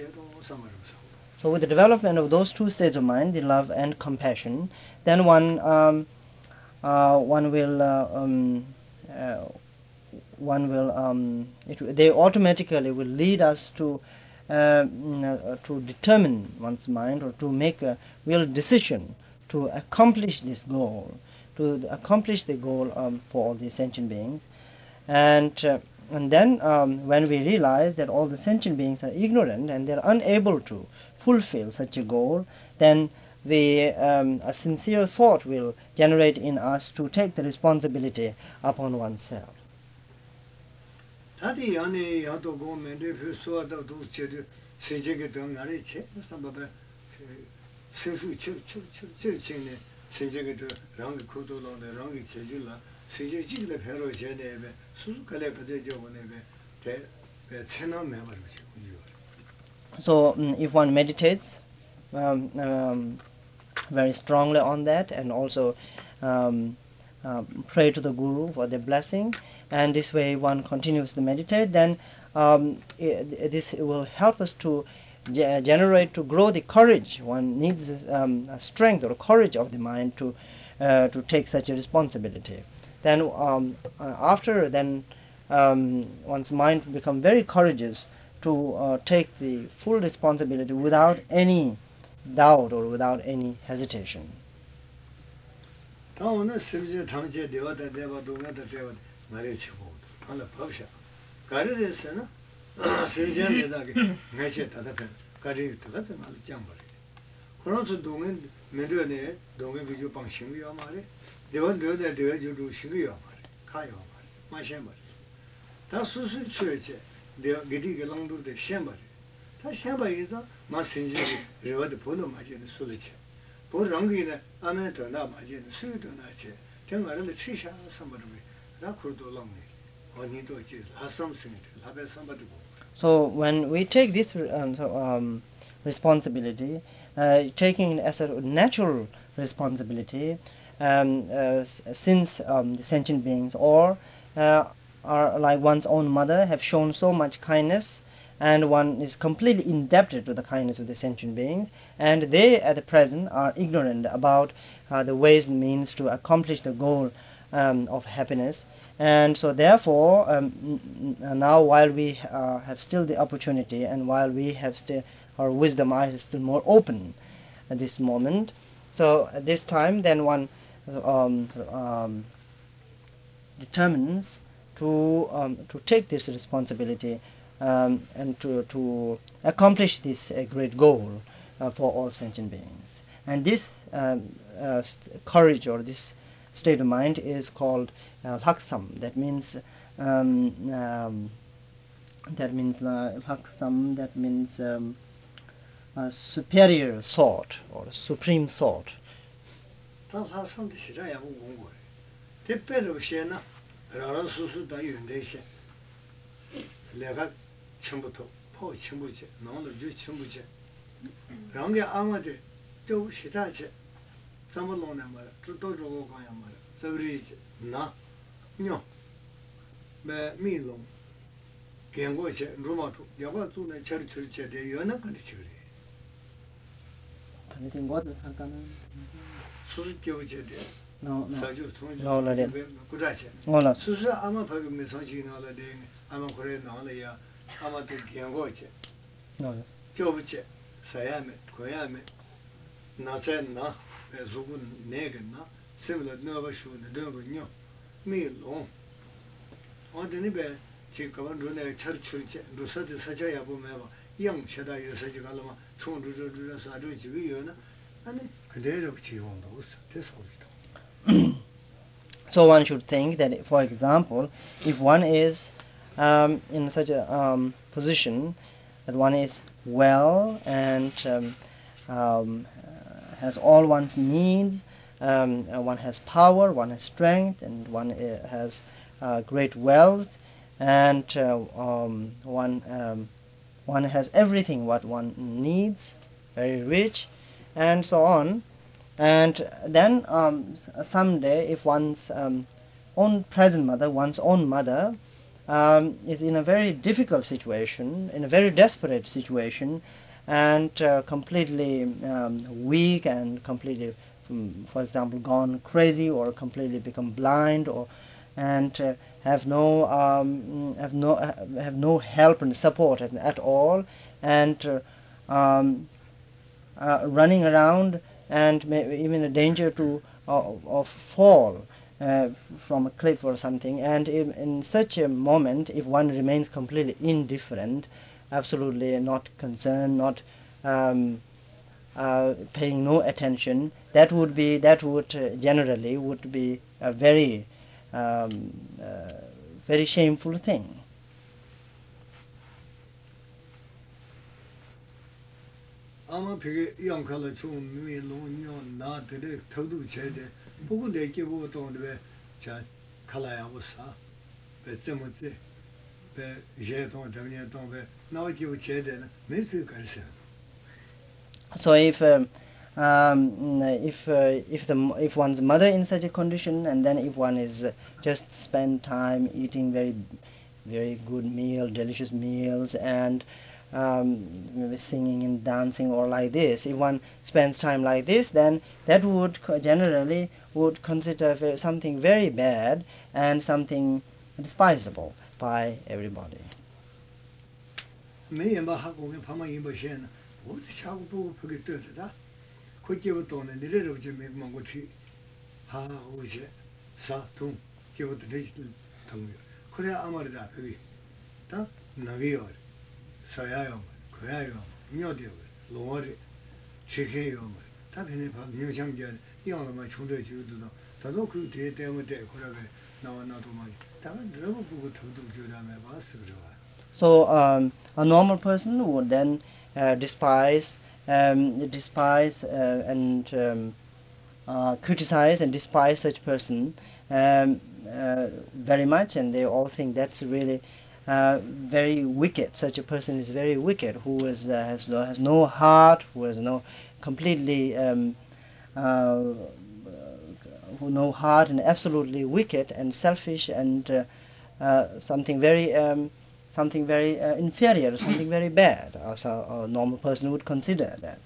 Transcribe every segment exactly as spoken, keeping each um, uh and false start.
So with the development of those two states of mind, the love and compassion, then one um, uh, one will uh, um, uh, one will um, it, they automatically will lead us to uh, to determine one's mind, or to make a real decision to accomplish this goal, to accomplish the goal um, for all the sentient beings. And uh, and then um, when we realize that all the sentient beings are ignorant and they are unable to fulfill such a goal, then the um, a sincere thought will generate in us to take the responsibility upon oneself. So um, if one meditates um, um, very strongly on that, and also um, uh, pray to the Guru for the blessing, and this way one continues to meditate, then um, it, this will help us to ge- generate, to grow the courage. One needs um, a strength or courage of the mind to uh, to take such a responsibility. Then um, uh, after then um, one's mind will become very courageous to uh, take the full responsibility without any doubt or without any hesitation. So when we take this um, so, um, responsibility, uh, taking it as a natural responsibility, um, uh, since um, the sentient beings or uh, are like one's own mother have shown so much kindness, and one is completely indebted to the kindness of the sentient beings, and they at the present are ignorant about uh, the ways and means to accomplish the goal um, of happiness. And so therefore um, n- now while we uh, have still the opportunity, and while we have still our wisdom eyes still more open at this moment, so at this time then one um, um, determines to um, to take this responsibility um, and to, to accomplish this uh, great goal uh, for all sentient beings. And this um, uh, st- courage, or this state of mind, is called uh, laksam. That means um, um, that means uh, laksam. That means um, a superior thought or a supreme thought. Anything what no, no. No, no, no. No, no. No, So one should think that, for example, if one is um, in such a um, position that one is well and um, um, uh, has all one's needs, um, uh, one has power, one has strength, and one uh, has uh, great wealth, and uh, um, one um, one has everything what one needs, very rich, and so on. And then um, someday, if one's um, own present mother, one's own mother, um, is in a very difficult situation, in a very desperate situation, and uh, completely um, weak and completely, um, for example, gone crazy or completely become blind, or and uh, have no um, have no have no help and support at, at all, and uh, um, uh, running around and may, even a danger to uh, of fall uh, from a cliff or something. And in, in such a moment, if one remains completely indifferent, absolutely not concerned, not um, uh, paying no attention, that would be that would uh, generally would be a very um, uh, very shameful thing. 아마 되게 영칼을 좀 미롱요 나들의 터도 제대 보고 내게 보고 또왜 자 칼라야 보사 배점지 배 제동 때문에 또배 나오지고 제대는 매수 가르쳐. So if um, um, if uh, if the if one's mother in such a condition, and then if one is uh, just spend time eating very very good meal, delicious meals, and um, maybe singing and dancing or like this, if one spends time like this, then that would generally would consider something very bad and something despisable by everybody. 어디 자고 보고 보게 떠다. 그때부터는 내려를 좀 먹고 튀. 하 오지. 사통 기부터 내지 당. 그래 아무래도 그게 다 나게요. 사야요. 그야요. 묘디요. 로어리 체케요. 다 변해 봐. 묘장견 이왕만 총대 지도도 다도 그 뒤에 때문에 그러게 나와 나도 막 다가 너무 보고 더도 교담해 봤어 그래. So um, a normal person would then Uh, despise, um, despise uh, and um, uh, criticize and despise such person um, uh, very much, and they all think that's really uh, very wicked. Such a person is very wicked, who is uh, has no, has no heart, who has no completely um, uh, who no heart, and absolutely wicked and selfish, and uh, uh, something very. Um, something very uh, inferior, something very bad, as a, a normal person would consider that.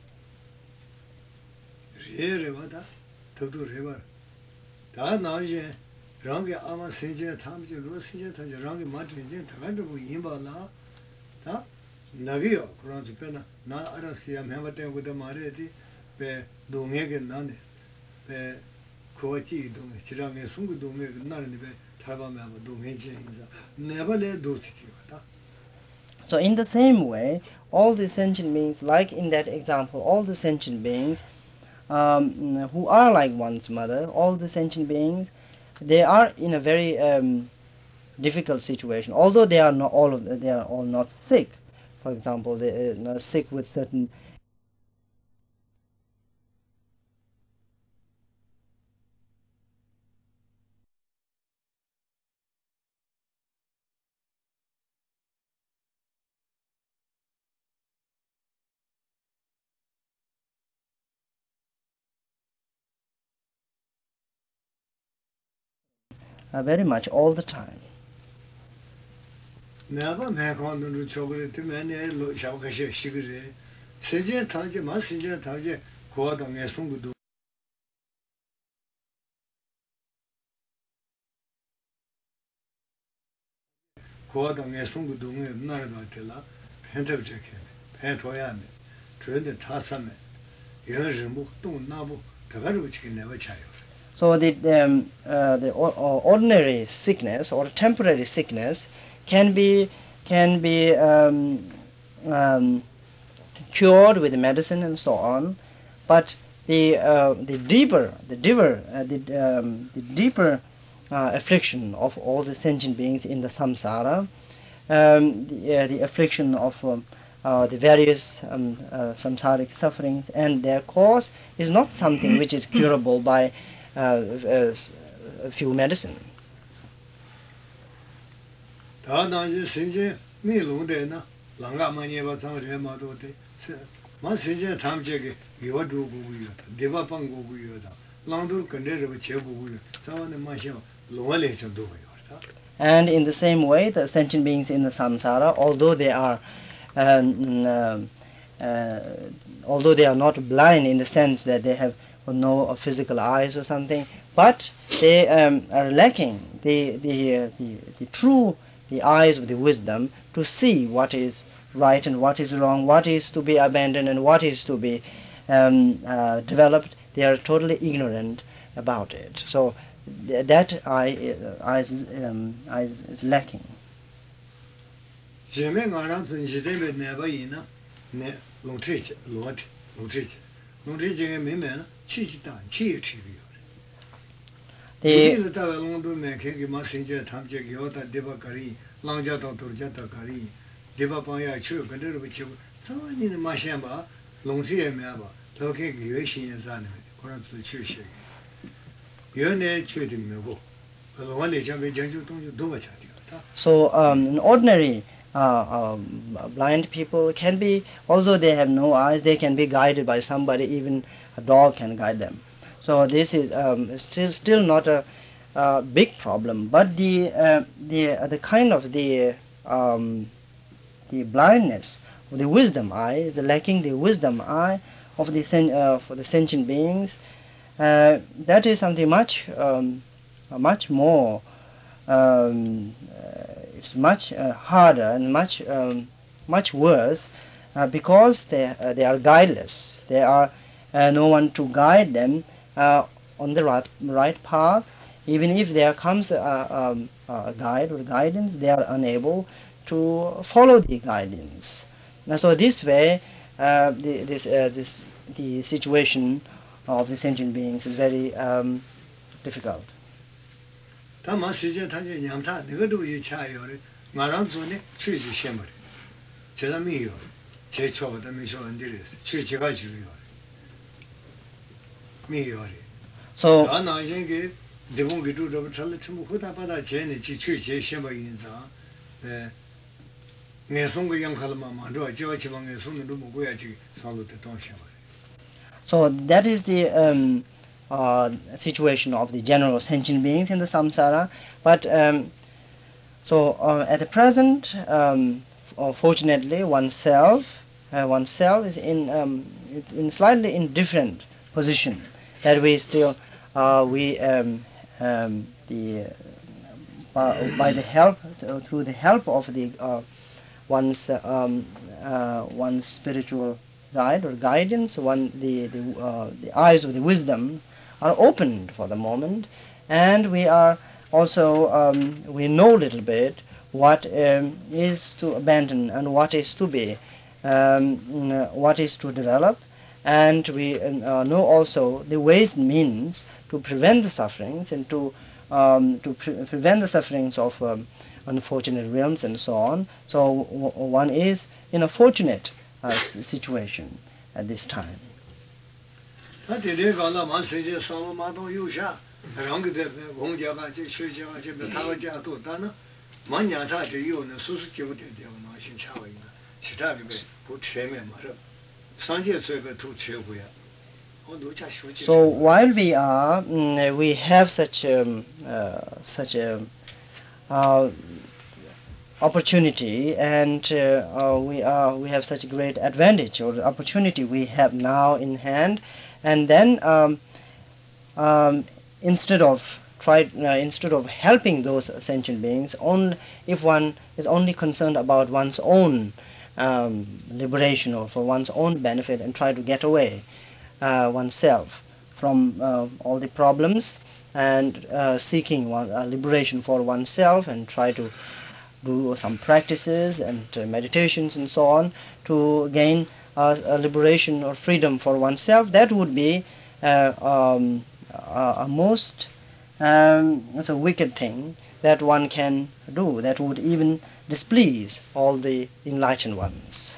So in the same way, all the sentient beings, like in that example, all the sentient beings um, who are like one's mother, all the sentient beings, they are in a very um, difficult situation. Although they are not all of they are all not sick. For example, they are not sick with certain uh, very much all the time. Never make on the chocolate to many Shawkashi sugar. Sijin Taji, Massija Taji, Quad on a Sungu. Quad on a Sungu doing Naratilla, Pentabjek, Pentoyame, Trade the Tassame, Yerjimu, Don't Nabu, Tagaruch can never child. So the um, uh, the ordinary sickness or temporary sickness can be can be um, um, cured with medicine and so on, but the uh, the deeper the deeper uh, the, um, the deeper uh, affliction of all the sentient beings in the samsara, um, the, uh, the affliction of um, uh, the various um, uh, samsaric sufferings and their cause is not something which is curable by uh, uh, a few medicine. And in the same way, the sentient beings in the samsara, although they are, um, uh, uh, although they are not blind in the sense that they have no physical eyes or something, but they um, are lacking the the, uh, the the true the eyes of the wisdom to see what is right and what is wrong, what is to be abandoned and what is to be um, uh, developed. They are totally ignorant about it. So th that eye, uh, eye, is, um, eye is lacking. So um, an ordinary uh, um, blind people can be, although they have no eyes, they can be guided by somebody. Even a dog can guide them. So this is um, still still not a uh, big problem. But the uh, the uh, the kind of the um, the blindness of the wisdom eye, the lacking the wisdom eye of the sen uh, for the sentient beings, uh, that is something much um, much more. Um, uh, it's much uh, harder and much um, much worse uh, because they uh, they are guideless. There are uh, no one to guide them uh, on the right right path. Even if there comes a, um, a guide or guidance, they are unable to follow the guidance. Now, so this way, uh, the, this uh, this the situation of the sentient beings is very um, difficult. So So that is the um, uh, situation of the general sentient beings in the samsara. But um, so uh, at the present, um, fortunately, oneself, uh, oneself is in um, it's in slightly in different position. That we still uh, we um, um, the uh, by the help uh, through the help of the uh, one's uh, um, uh, one's spiritual guide or guidance, one the the, uh, the eyes of the wisdom are opened for the moment, and we are also um, we know a little bit what um, is to abandon and what is to be, um, what is to develop, and we uh, know also the ways and means to prevent the sufferings and to um, to pre prevent the sufferings of um, unfortunate realms and so on. So w one is in a fortunate uh, situation at this time. So while we are, mm, we have such um, uh, such a uh, opportunity, and uh, uh, we are we have such a great advantage or opportunity we have now in hand, and then um, um, instead of try uh, instead of helping those sentient beings, only if one is only concerned about one's own um, liberation or for one's own benefit and try to get away uh, oneself from uh, all the problems and uh, seeking one, uh, liberation for oneself and try to do some practices and uh, meditations and so on to gain uh, a liberation or freedom for oneself, that would be uh, um, a, a most um, it's a wicked thing that one can do, that would even displease all the enlightened ones.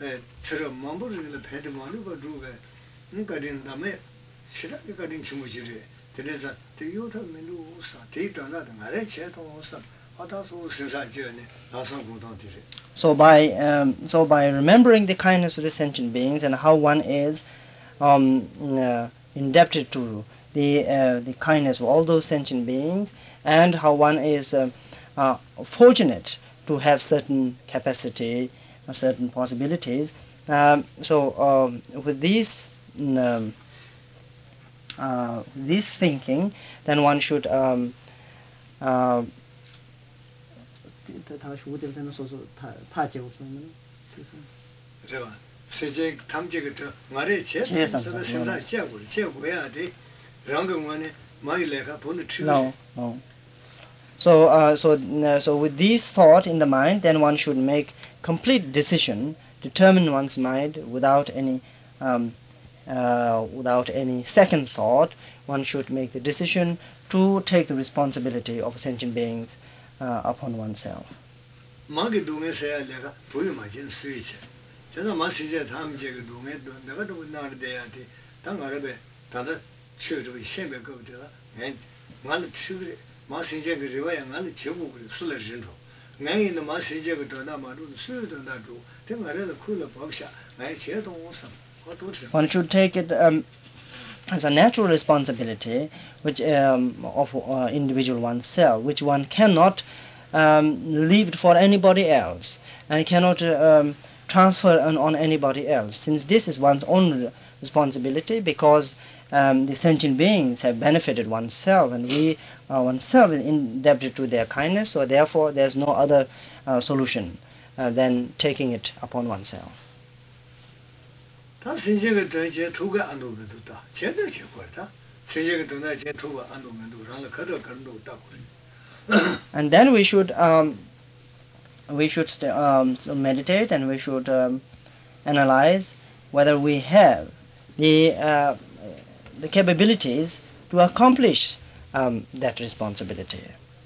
chero mambo rile pede manu ba druga ngarin dame shira garin chumuchire teresa te yota menu sa te dana ngare che to sa ata so sinsa jene asan gudon dire. So by um, so by remembering the kindness of the sentient beings and how one is um, uh, indebted to the uh, the kindness of all those sentient beings, and how one is uh, uh, fortunate to have certain capacity or certain possibilities. Um, so um, with these um, uh, this thinking, then one should um, uh, 세제 탐제부터 말에 제대로 생산 제고 제고야 돼. 랑금원에 많이 내가 보는 치. No, no. So, uh, so, uh, so with this thought in the mind, then one should make complete decision, determine one's mind without any, um, uh, without any second thought. One should make the decision to take the responsibility of sentient beings uh, upon oneself. 마게 동에서야 내가 보이마진 수이체. 제가 마시제 탐제가 동에 내가 좀 나를 돼야 돼. 당가르베 다들 치료를 신배 거기다가 말 치료 마시제 그 리와야 말 제고 술을 진로. 내가 마시제 그 더나 말로 술도 나도 당가르는 쿨을 법샤. 내 제동선. One should take it um, as a natural responsibility which um, of uh, individual oneself, which one cannot um, leave it for anybody else and cannot uh, um, transfer on, on anybody else, since this is one's own responsibility, because um, the sentient beings have benefited oneself and we are oneself indebted to their kindness, so therefore there's no other uh, solution uh, than taking it upon oneself. And then we should um, we should um, meditate, and we should um, analyze whether we have the uh, the capabilities to accomplish um, that responsibility.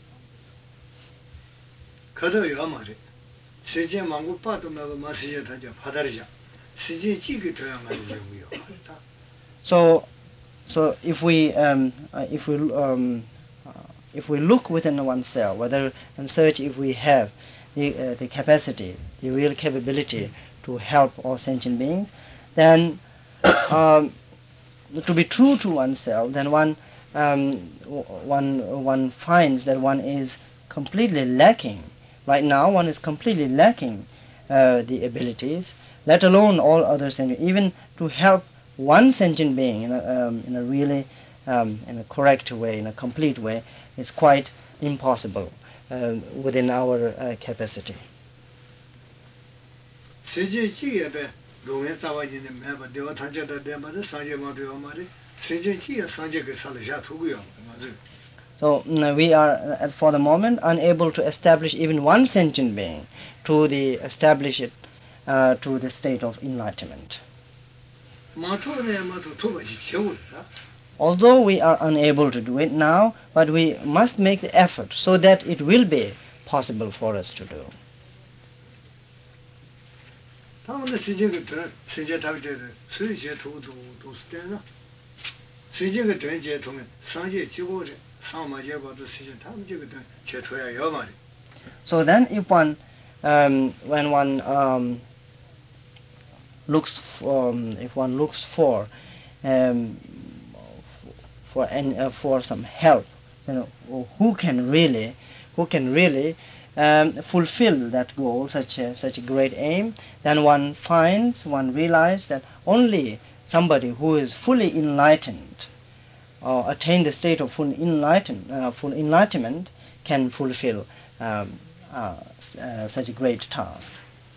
So, so if we um, uh, if we um, uh, if we look within oneself, whether and search if we have the uh, the capacity, the real capability to help all sentient beings, then um, to be true to oneself, then one um, one one finds that one is completely lacking. Right now, one is completely lacking uh, the abilities, let alone all other sentient, even to help one sentient being in a, um, in a really um, in a correct way, in a complete way, is quite impossible um, within our uh, capacity. So mm, we are uh, for the moment unable to establish even one sentient being to the establish it uh, to the state of enlightenment. Although we are unable to do it now, but we must make the effort so that it will be possible for us to do. So then if one, um, when one um, looks for, um, if one looks for um, for any, uh, for some help, you know, who can really, who can really um, fulfill that goal, such a such a great aim, then one finds, one realizes that only somebody who is fully enlightened, or attain the state of full enlighten, uh, full enlightenment, can fulfill um, uh, uh, such a great task.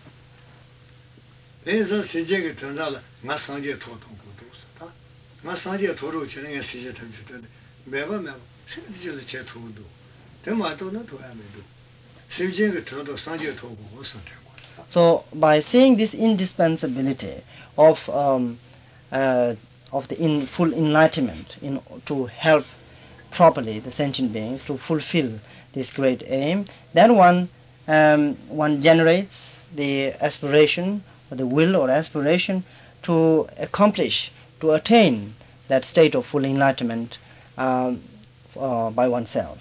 So by seeing this indispensability of um, uh, of the in full enlightenment in to help properly the sentient beings to fulfill this great aim, then one um, one generates the aspiration the will or aspiration to accomplish, to attain that state of full enlightenment um, uh, by oneself.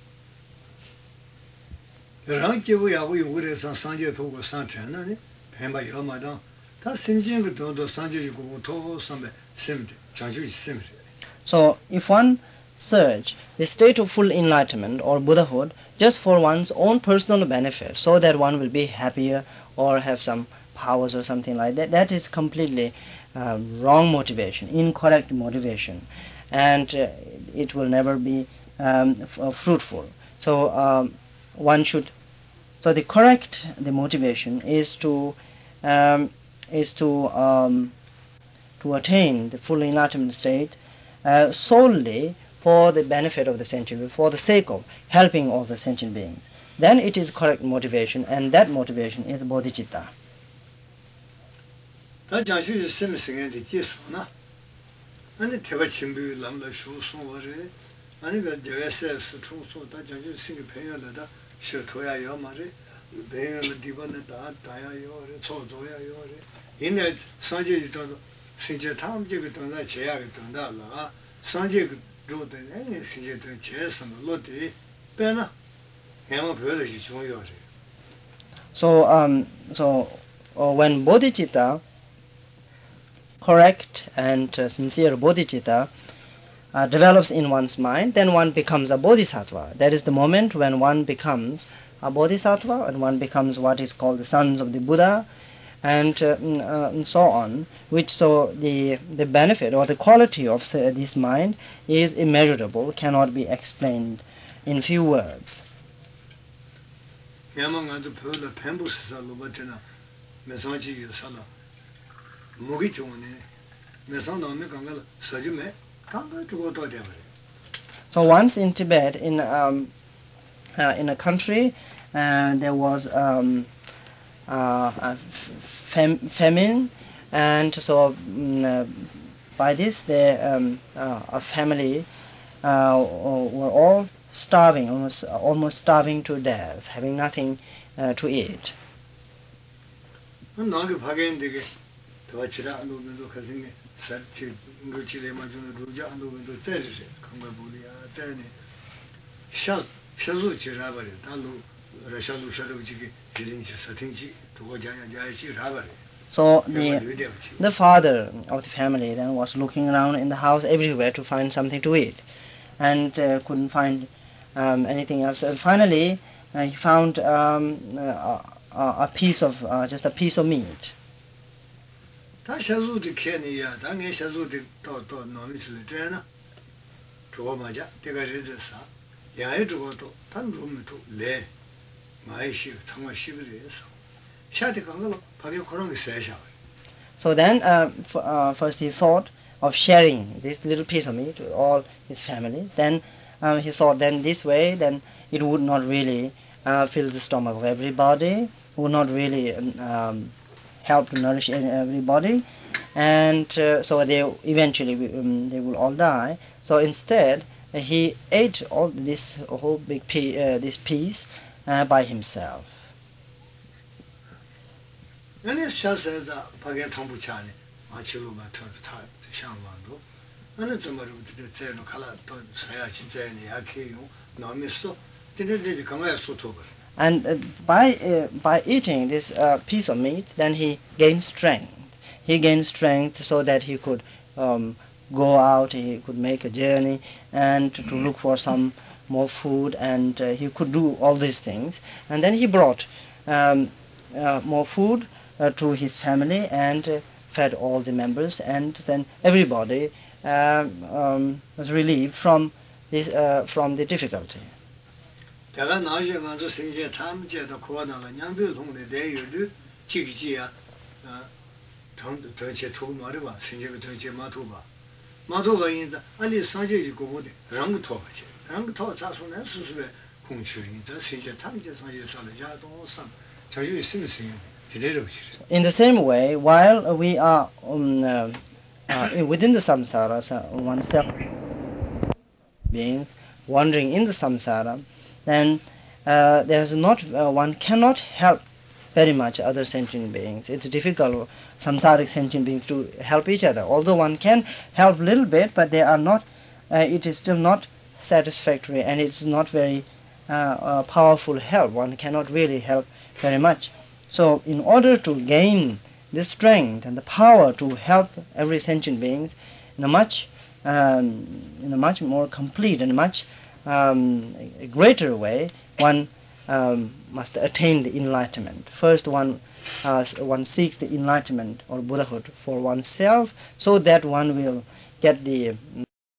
So if one search the state of full enlightenment or Buddhahood just for one's own personal benefit, so that one will be happier or have some powers or something like that, that is completely uh, wrong motivation, incorrect motivation, and uh, it will never be um, f- uh, fruitful. So um, one should, so the correct the motivation is to um, is to um, to attain the full enlightenment state uh, solely for the benefit of the sentient being, for the sake of helping all the sentient beings. Then it is correct motivation, and that motivation is bodhicitta. So, um, so uh, when bodhicitta, correct and uh, sincere bodhicitta, uh, develops in one's mind, then one becomes a bodhisattva. That is the moment when one becomes a bodhisattva, and one becomes what is called the sons of the Buddha, and, uh, uh, and so on. Which so the the benefit or the quality of uh, this mind is immeasurable, cannot be explained in few words. So once in Tibet, in um, uh, in a country, uh, there was um, uh, a fam- famine, and so um, uh, by this, the um, uh, a family uh, were all starving, almost almost starving to death, having nothing uh, to eat. So the, the father of the family then was looking around in the house everywhere to find something to eat, and uh, couldn't find um, anything else. And finally, uh, he found um, a, a piece of uh, just a piece of meat. So then, uh, f- uh, first he thought of sharing this little piece of meat with all his families. Then um, he thought, then this way, then it would not really uh, fill the stomach of everybody, would not really um, help to nourish everybody, and uh, so they eventually um, they will all die. So instead, uh, he ate all this whole big piece, uh, this piece uh, by himself. And uh, by uh, by eating this uh, piece of meat, then he gained strength. He gained strength so that he could um, go out, he could make a journey, and to look for some more food, and uh, he could do all these things. And then he brought um, uh, more food uh, to his family, and uh, fed all the members, and then everybody uh, um, was relieved from this uh, from the difficulty. In the same way, while we are um, uh, uh, within the samsara, so oneself beings wandering in the samsara, then uh, there's not uh, one cannot help very much other sentient beings. It's difficult, samsaric sentient beings, to help each other. Although one can help a little bit, but they are not, uh, it is still not satisfactory, and it's not very uh, uh, powerful help. One cannot really help very much. So in order to gain the strength and the power to help every sentient being in a much, um, in a much more complete and much um, a greater way, one um, must attain the enlightenment. First, one uh, one seeks the enlightenment or Buddhahood for oneself, so that one will get the